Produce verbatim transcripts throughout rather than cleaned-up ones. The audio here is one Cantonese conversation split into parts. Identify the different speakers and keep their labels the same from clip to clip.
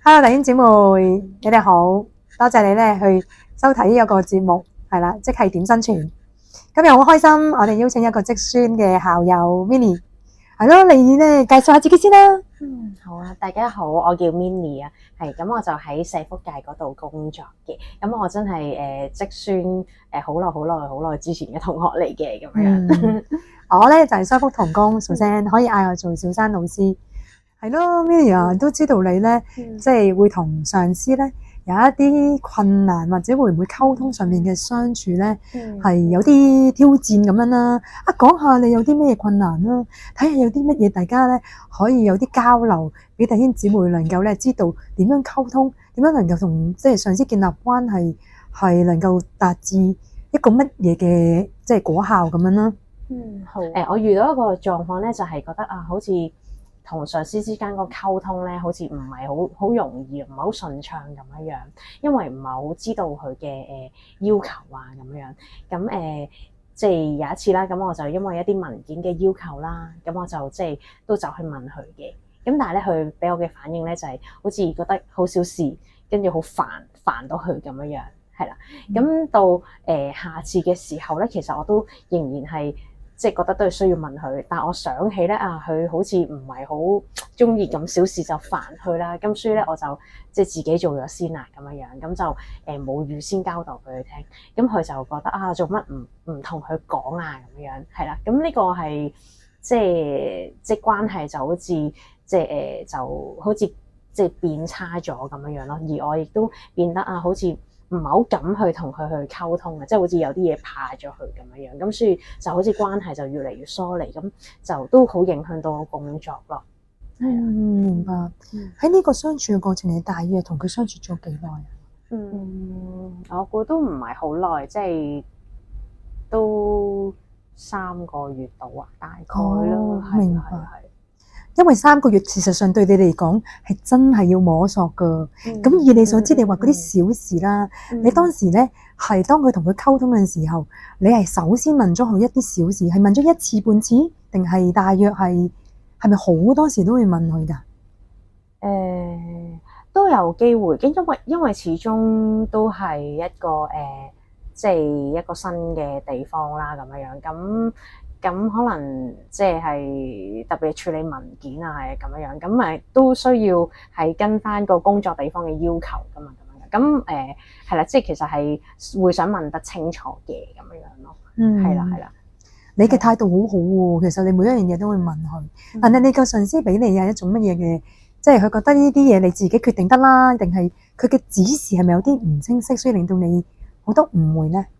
Speaker 1: Hello，弟兄姊妹，你哋好，多謝你咧去收睇呢一個節目，係啦，即係點生存。今日好開心，我哋邀請一個職宣嘅校友 Minnie， 係咯，你咧介紹下自己先啦。
Speaker 2: 嗯，好啊，大家好，我叫 Minnie 啊，係咁我就喺社福界嗰度工作嘅，咁我真係誒職宣誒好耐好耐好耐之前嘅同學嚟嘅咁樣。
Speaker 1: 嗯、我咧就係雙福同工，小珊可以嗌我做小珊老師。係咯 Minnie 啊，都知道你咧，
Speaker 2: 嗯、
Speaker 1: 即係會同上司咧有一啲困難，或者會唔會溝通上面嘅相處咧，係、嗯、有啲挑戰咁樣啦。啊，講下你有啲咩困難啦，睇下有啲乜嘢大家咧可以有啲交流，俾弟兄姊妹能夠咧知道點樣溝通，點樣能夠同即係上司建立關係，係能夠達至一個乜嘢嘅即係果效咁樣啦。
Speaker 2: 嗯，好。誒、呃，我遇到一個狀況咧，就係、是、覺得啊，好似同上司之間個溝通咧，好似唔係好好容易，唔係好順暢咁樣樣，因為唔係好知道佢嘅誒要求啊咁樣。咁誒、呃，即係有一次啦，咁我就因為一啲文件嘅要求啦，咁我就即係都走去問佢嘅。咁但係咧，佢俾我嘅反應咧就係、是、好似覺得好小事，跟住好煩煩到佢咁樣樣，係啦。咁、嗯、到誒、呃、下次嘅時候咧，其實我都仍然係。即係覺得都係需要問佢，但係我想起咧啊，佢好似唔係好中意咁小事就煩佢啦，咁所以咧我就即係自己做咗先啦咁樣樣，咁就誒冇預先交代俾佢聽，咁佢就覺得啊做乜唔唔同佢講啊咁樣，係啦，咁呢個係即係即係關係就好似即係誒就好似即係變差咗咁樣樣咯，而我亦都變得啊好似唔係好敢去同佢去溝通嘅，即係好似有啲嘢怕咗佢咁樣樣，咁所以就好似關係就越嚟越疏離，咁就都好影響到我工作咯。
Speaker 1: 嗯，明白。喺呢、嗯、個相處嘅過程，你大約同佢相處咗幾耐啊？
Speaker 2: 嗯，我估都唔係好耐，即係都三個月到啊，大概咯。
Speaker 1: 哦、明白。因為三個月事實上對你嚟講係真係要摸索噶，咁、嗯、以你所知，嗯、你話嗰啲小事啦，嗯、你當時咧係當佢同佢溝通嘅時候，你係首先問咗佢一啲小事，係問咗一次半次，定係大約係係咪好多時都會問佢噶？誒、
Speaker 2: 呃，都有機會，因為因為始終都係一個誒、呃，即係一個新嘅地方啦，咁樣樣咁。咁可能即係特別處理文件啊，係咁樣樣，咁咪都需要係跟翻個工作地方嘅要求噶嘛，咁樣咁誒係啦，即係其實係會想問得清楚嘅咁樣樣咯。嗯，係啦係啦，
Speaker 1: 你嘅態度好好喎，其實你每一樣嘢都會問佢，嗯、但係你個上司俾你係一種乜嘢嘅，即係佢覺得呢啲嘢你自己決定得啦，定係佢嘅指示係咪有啲唔清晰，所以令到你好多誤會咧？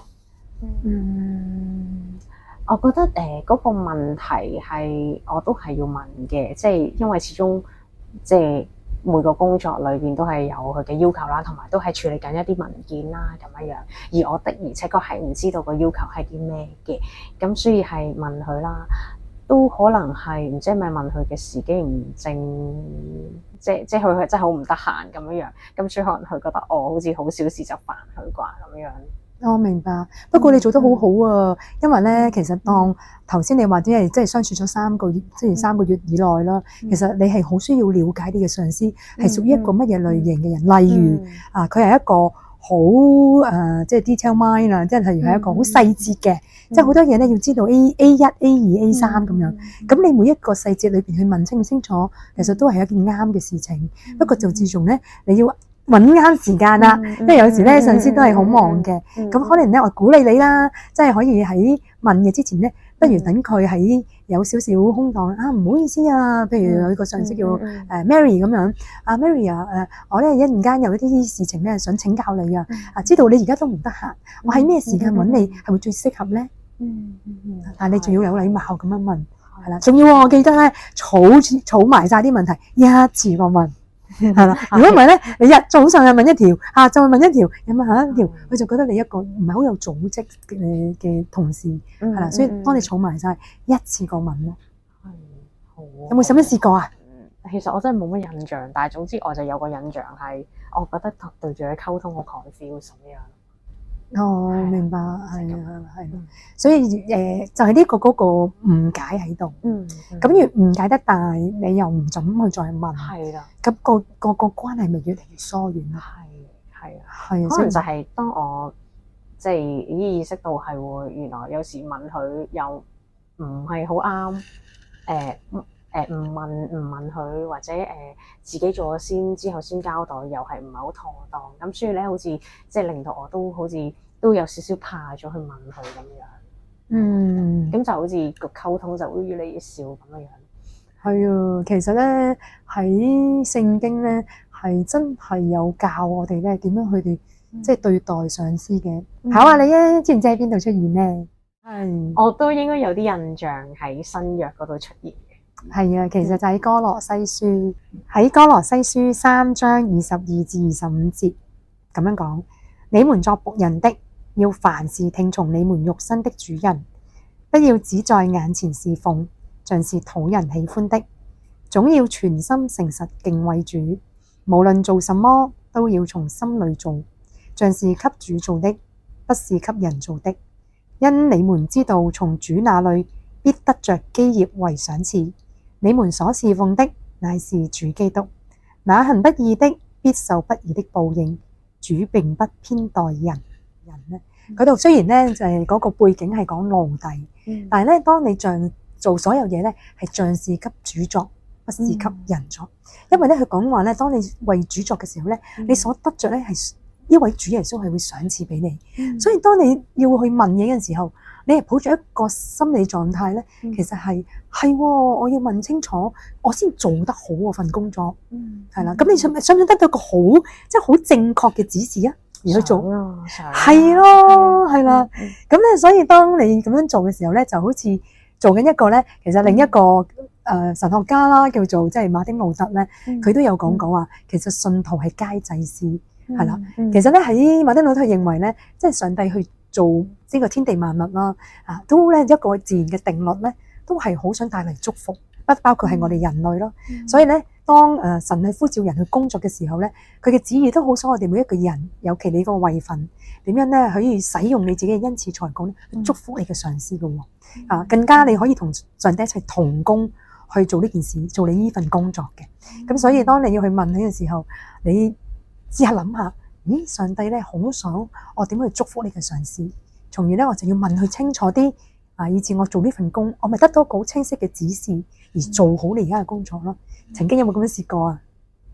Speaker 2: 嗯。我覺得誒嗰、呃那個問題係我都係要問嘅，即係因為始終即係每個工作裏邊都係有佢嘅要求啦，同埋都係處理緊一啲文件啦咁樣樣。而我的而且確係唔知道個要求係啲咩嘅，咁所以係問佢啦，都可能係唔知係咪問佢嘅時機唔正，即係即係佢係真係好唔得閒咁樣樣，咁所以可能佢覺得我好似好小事就煩佢啩咁樣。
Speaker 1: 我、哦、明白，不過你做得好好啊，嗯、因為咧，其實當頭先你話啲係即係相處咗三個月，即係三個月以內啦，嗯、其實你係好需要了解你嘅上司係屬於一個乜嘢類型嘅人，嗯、例如、嗯、啊，佢係一個好誒、呃，即係 detail mind 啊，即係例如係一個好細節嘅，嗯、即係好多嘢咧要知道 A A 一 A 二 A 三咁樣，咁、嗯、你每一個細節裏邊去問清唔清楚，其實都係一件啱嘅事情。嗯、不過就自從咧，你要揾啱時間啦，嗯、因為有時咧、嗯、上司都係好忙嘅，咁、嗯、可能咧我鼓勵你啦，即係可以喺問嘅之前咧，不如等佢喺有少少空檔啊，唔好意思啊，譬如有個上司叫誒 Mary 咁樣，啊 Mary 啊誒，我咧一陣間有一啲事情咧想請教你啊，啊知道你而家都唔得閒，我喺咩時間揾你係會最適合咧？嗯嗯嗯，但係你仲要有禮貌咁樣問，係啦，仲要我記得咧，儲儲埋晒啲問題一次過問。係啦，如果唔係咧，你日早上又問一條，下晝又問一條，又問下一條，佢就覺得你一個唔係好有組織嘅嘅同事，係啦，所以當你儲埋晒一次過問咯。係，好。有冇使乜試過啊？
Speaker 2: 其實我真係冇乜印象，但係總之我就有個印象係，我覺得對住佢溝通好 confuse 咁樣。
Speaker 1: 哦，
Speaker 2: 係啊
Speaker 1: 明白，係啊，係咯
Speaker 2: 嗯，
Speaker 1: 所以誒、呃就係、呢個嗰個誤解喺度。
Speaker 2: 嗯，
Speaker 1: 咁越誤解得大，你又唔怎去再問，
Speaker 2: 係啦，
Speaker 1: 咁、個個個關係咪越嚟越疏遠咯。
Speaker 2: 係係啊，
Speaker 1: 係啊，所以
Speaker 2: 可能就係當我即係意識到係喎，原來有時問佢又唔係好啱，誒誒唔問唔問佢，或者誒、呃、自己做咗先，之後先交代，又係唔係好妥當，咁所以咧，好似即係令到我都好似都有少少怕咗去問佢咁樣，
Speaker 1: 嗯，
Speaker 2: 咁就好似個溝通就會越嚟越少咁樣樣。
Speaker 1: 係啊，其實咧喺聖經咧係真係有教我哋咧點樣去哋即係對待上司嘅。
Speaker 2: 嗯
Speaker 1: 考下你啊，知唔知喺邊度出現咧？係
Speaker 2: 我都應該有啲印象喺新約嗰度出現嘅。
Speaker 1: 係啊，其實就喺哥羅西書，喺哥羅西書三章二十二至二十五節咁樣講：你們作僕人的，要凡事聽從你們肉身的主人，不要只在眼前侍奉，像是討人喜歡的，總要全心誠實敬畏主。無論做什麼，都要從心裏做，像是給主做的，不是給人做的。因你們知道，從主那裏必得着基業為賞賜。你們所侍奉的乃是主基督，那行不義的必受不義的報應。主並不偏待人，人呢嗰度雖然呢就係嗰個背景係講奴隸，
Speaker 2: 嗯
Speaker 1: 但係咧當你像做所有嘢咧係像是給主作，不是給人作。因為咧佢講話咧，當你為主作嘅時候咧，你所得着咧係呢位主耶穌係會賞賜俾你。
Speaker 2: 嗯
Speaker 1: 所以當你要去問嘢嘅時候，你係抱住一個心理狀態咧，
Speaker 2: 嗯
Speaker 1: 其實係係喎，我要問清楚，我先做得好嗰份工作，
Speaker 2: 嗯
Speaker 1: 係啦。咁你想唔想唔想得到個好，即係好正確嘅指示啊？而去做，
Speaker 2: 想啊想啊
Speaker 1: 係咯，係啦。
Speaker 2: 嗯
Speaker 1: 咁咧，所以當你咁樣做嘅時候咧，就好似做緊一個咧，其實另一個誒、呃、神學家啦，叫做即係馬丁路德咧，佢都有講講話，其實信徒係皆祭司。係啦，
Speaker 2: 嗯
Speaker 1: 其實咧喺馬丁路德認為咧，即係上帝去做呢個天地萬物啦，啊，都咧一個自然嘅定律咧，都係好想帶嚟祝福，不包括係我哋人類咯。
Speaker 2: 嗯
Speaker 1: 所以咧，當誒神去呼召人去工作嘅時候咧，佢嘅旨意都好想我哋每一個人，尤其你個位份，點樣咧可以使用你自己嘅恩賜才幹咧，去祝福你嘅上司嘅喎。啊，更加你可以同上帝一齊同工去做呢件事，做你呢份工作嘅。咁所以當你要去問佢嘅時候，你試下諗下，咦？上帝咧好想我點去祝福你嘅上司，從而咧我就要問佢清楚啲，啊，以至我做呢份工，我咪得到一個好清晰嘅指示，而做好你而家嘅工作咯。曾經有冇咁樣試過啊？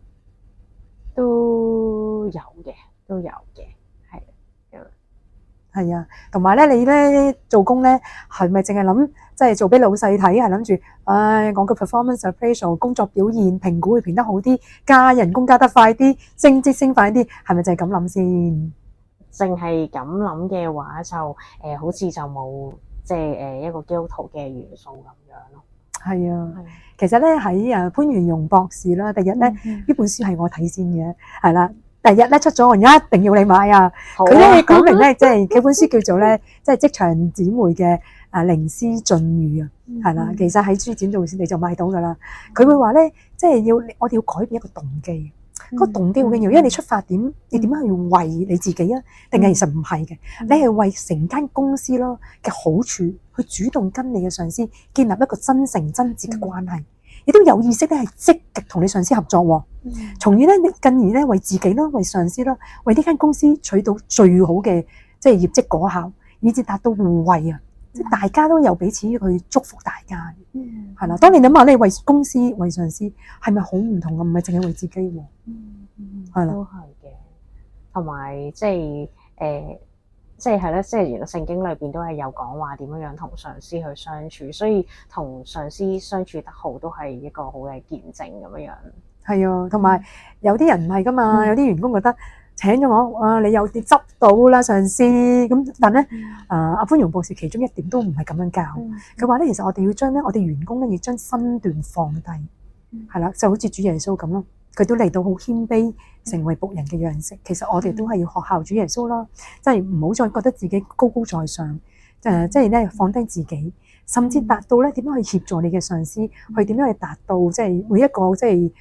Speaker 2: 都有嘅，都有嘅，係
Speaker 1: 係啊，同埋咧，你咧做工咧係咪淨係諗即係做俾老細睇，係諗住，唉，我個 performance appraisal 工作表現評估會評得好啲，加人工加得快啲，升職升快啲，係咪就係咁諗先？
Speaker 2: 淨係咁諗嘅話就，就、呃、誒好似就冇即係誒一個基督徒嘅元素咁樣咯。
Speaker 1: 係啊，
Speaker 2: 係
Speaker 1: 其實咧喺誒潘元容博士啦，第日咧呢、
Speaker 2: 嗯
Speaker 1: 本書係我睇先嘅，係啦。第日咧出咗，我一定要你買啊！
Speaker 2: 好
Speaker 1: 佢咧講明咧，即係佢本書叫做咧，即係職場姊妹嘅啊靈思進語啊，係啦。其實喺書展度你就買到噶啦。佢會話咧，即係要我哋要改變一個動機，嗰個動機好緊要，因為你出發點，你點樣去為你自己啊？定係其實唔係嘅，你係為成間公司咯嘅好處，去主動跟你嘅上司建立一個真誠真摯嘅關係。亦都有意識咧，係積極同你上司合作喎，從而咧，你進而咧為自己啦、為上司啦、為呢間公司取到最好嘅即係業績果效，以至達到互惠啊！即係大家都有彼此去祝福大家，
Speaker 2: 嗯
Speaker 1: 係啦。當你諗下，你為公司、為上司，係咪好唔同啊？唔係淨係為自己喎，
Speaker 2: 嗯
Speaker 1: 係啦
Speaker 2: 都係嘅，同埋即係誒。即係係咧，即係原來聖經裏邊都係有講話點樣樣同上司去相處，所以同上司相處得好都係一個好嘅見證咁樣樣。
Speaker 1: 係啊，同埋有啲人唔係噶嘛，
Speaker 2: 嗯
Speaker 1: 有啲員工覺得請咗我，啊你有啲執到啦上司咁，但咧啊阿潘榮博士其中一點都唔係咁樣教，佢話咧其實我哋要將咧我哋員工咧要將身段放低，係啦，就好似主耶穌咁咯。佢都嚟到好謙卑，成為僕人嘅樣式。其實我哋都係要學效主耶穌啦，即係唔好再覺得自己高高在上，誒，即係咧放低自己，甚至達到咧點樣去協助你嘅上司，去點樣去達到即係每一個即係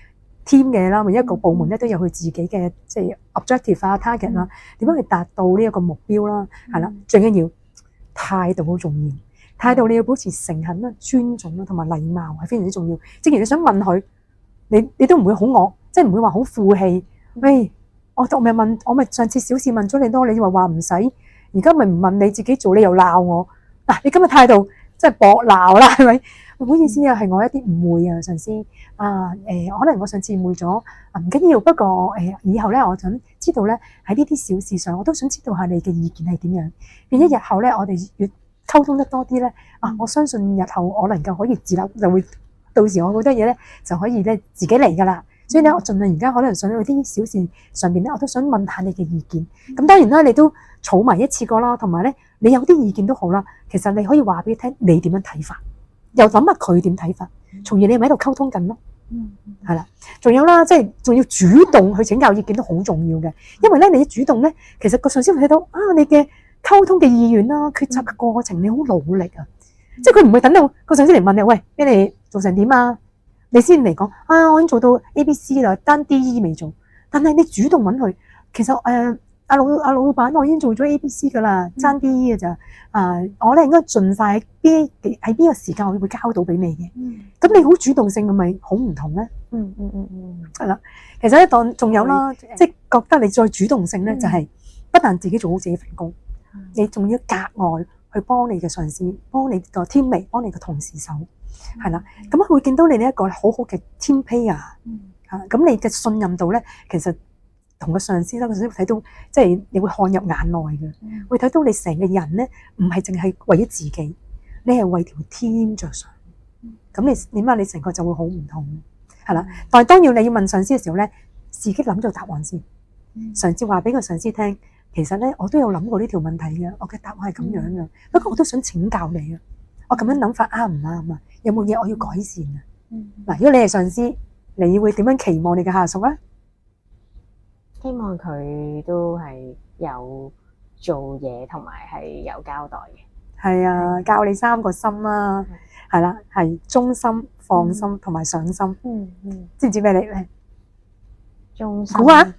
Speaker 1: team 嘅啦，每一個部門咧都有佢自己嘅即係 objective 啊、target 啦，點樣去達到呢一個目標啦，係啦，最緊要態度好重要，態度你要保持誠懇啦、尊重啦同埋禮貌係非常之重要。正如你想問佢，你你都唔會好惡，即係唔會話好負氣。喂，我我咪問，我咪上次小事問咗你多，你話話唔使，而家咪唔問你自己做，你又鬧我嗱，你今日態度即係搏鬧啦，係咪？唔好意思啊，係我一啲誤會啊，上司啊，誒，可能我上次誤會咗啊，唔緊要。不過誒，以後咧，我想知道咧喺呢啲小事上，我都想知道下你嘅意見係點樣。變咗日後咧，我哋越溝通得多啲咧，啊，我相信日後我能夠可以自立，就會到時我好多嘢咧就可以咧自己嚟噶啦。所以咧，我盡量而家可能想喺啲小事上邊咧，我都想問下你嘅意見。咁當然啦，你都儲埋一次過啦，同埋咧，你有啲意見都好啦。其實你可以話俾佢聽，你點樣睇法，又諗下佢點睇法，從而你咪喺度溝通緊咯。嗯，係啦，仲有啦，即係仲要主動去請教意見都好重要嘅，因為咧你一主動咧，其實個上司會睇到啊你嘅溝通嘅意願啦、決策嘅過程，你好努力啊，即係佢唔會等到個上司嚟問你，喂，俾你做成點啊？你先嚟講啊，我已經做到 A、B、C 啦，單 D、E 未做，但係你主動揾佢，其實誒阿老阿老闆，我已經做咗 A、B、C 噶啦，爭 D、E 嘅咋啊？我咧應該盡快喺邊喺邊個時間我會交到俾你嘅。咁你好主動性，咁咪好唔同咧？嗯嗯嗯嗯，係啦。其實咧，當仲有啦，即係覺得你再主動性咧，就係不但自己做好自己份工，你仲要格外去幫你嘅上司，幫你個 teammate，幫你個同事手。係啦，咁佢會見到你呢一個好好嘅 team player，嚇，咁你嘅信任度咧，其實同個上司啦，個上司會睇到，即係你會看入眼內嘅，會睇到你成個人咧，唔係淨係為咗自己，你係為條 team 着想，咁你點解你成個就會好唔同，係啦。但係當要你要問上司嘅時候咧，自己諗咗答案先，嘗試話俾個上司聽，其實咧我都有諗過呢條問題嘅，我嘅答案係咁樣嘅，不過我都想請教你啊，我咁樣諗法啱唔啱啊？有冇嘢我要改善啊？嗱，如果你係上司，你會點樣期望你嘅下屬啊？
Speaker 2: 希望佢都係有做嘢同埋係有交代嘅。係啊，
Speaker 1: 教你三個心啦，係啦，係忠心、放心同埋上心。嗯嗯，知唔知咩嚟咧？
Speaker 2: 忠心。
Speaker 1: 估下，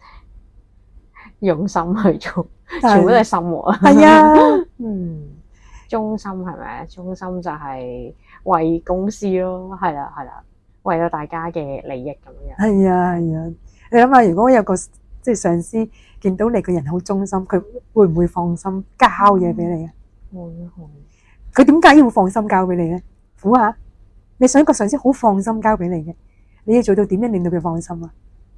Speaker 2: 用心去做，全部都係心喎。
Speaker 1: 係啊，嗯。
Speaker 2: 忠心係咪啊？忠心就係為公司咯，係啦係啦，為咗大家嘅利益咁樣。係啊係啊，你諗下，如果有個即係上司見到你個人好忠心，佢會唔會放心交嘢俾你啊？會會。佢點解要放心交俾你咧？估下，你想一個上司好放心交俾你嘅，你要做到點樣令到佢放心啊？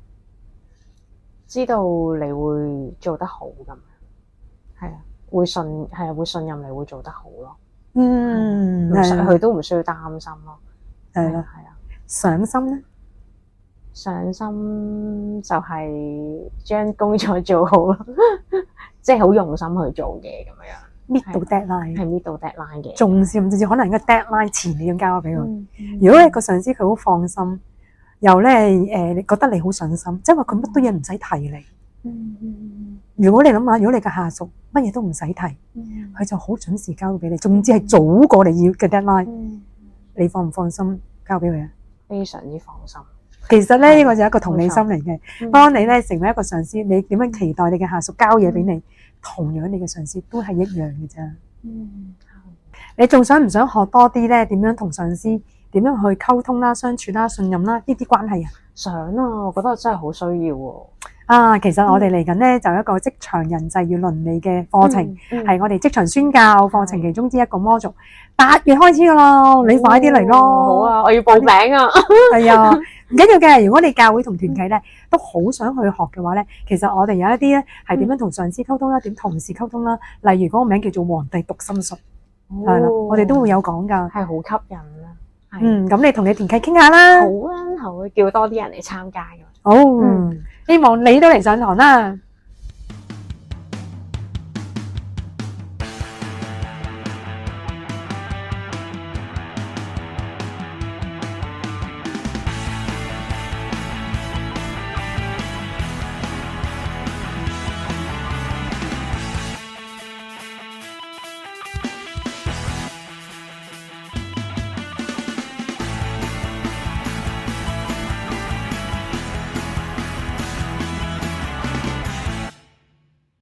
Speaker 2: 知道你會做得好咁，係啊。會信係啊，會信任你會做得好咯。嗯，佢都唔需要擔心咯。係啦，係啊。上心咧，上心就係將工作做好咯，即係好用心去做嘅咁樣。搣到 deadline 係搣到 deadline 嘅，仲甚至可能個 deadline 前你要交俾佢。嗯嗯、如果你個上司佢好放心，又咧誒，你覺得你好上心，即係話佢乜都嘢唔使提你。嗯嗯、如果你諗下，如果你嘅下屬乜嘢都唔使提，佢、嗯、就好準時交俾你，總之係早過你要嘅 deadline，、嗯、你放唔放心交俾佢啊？非常之放心。其實咧呢、呢個就係一個同理心嚟嘅。嗯、當你咧成為一個上司，你點樣期待你嘅下屬交嘢俾你？嗯、同樣你嘅上司都係一樣嘅啫。嗯、你仲想唔想學多啲咧？點樣同上司點樣去溝通啦、相處啦、信任啦呢啲關係啊？想啊，我覺得真係好需要喎。啊，其實我哋嚟緊咧就有一個職場人際與倫理嘅課程，係、嗯嗯、我哋職場宣教課程其中之一個 module。八月開始噶啦，你快啲嚟咯！好啊，我要報名啊！係啊，唔緊要嘅。如果你教會同團契咧都好想去學嘅話咧，其實我哋有一啲咧係點樣同上司溝通啦，點同事溝通啦。例如嗰個名叫做皇帝讀心術，係啦、哦，我哋都會有講噶，係好吸引啊！嗯，咁你同你團契傾下啦。好啊，好，叫多啲人嚟參加嘅。好，嗯、希望你都嚟上堂啦。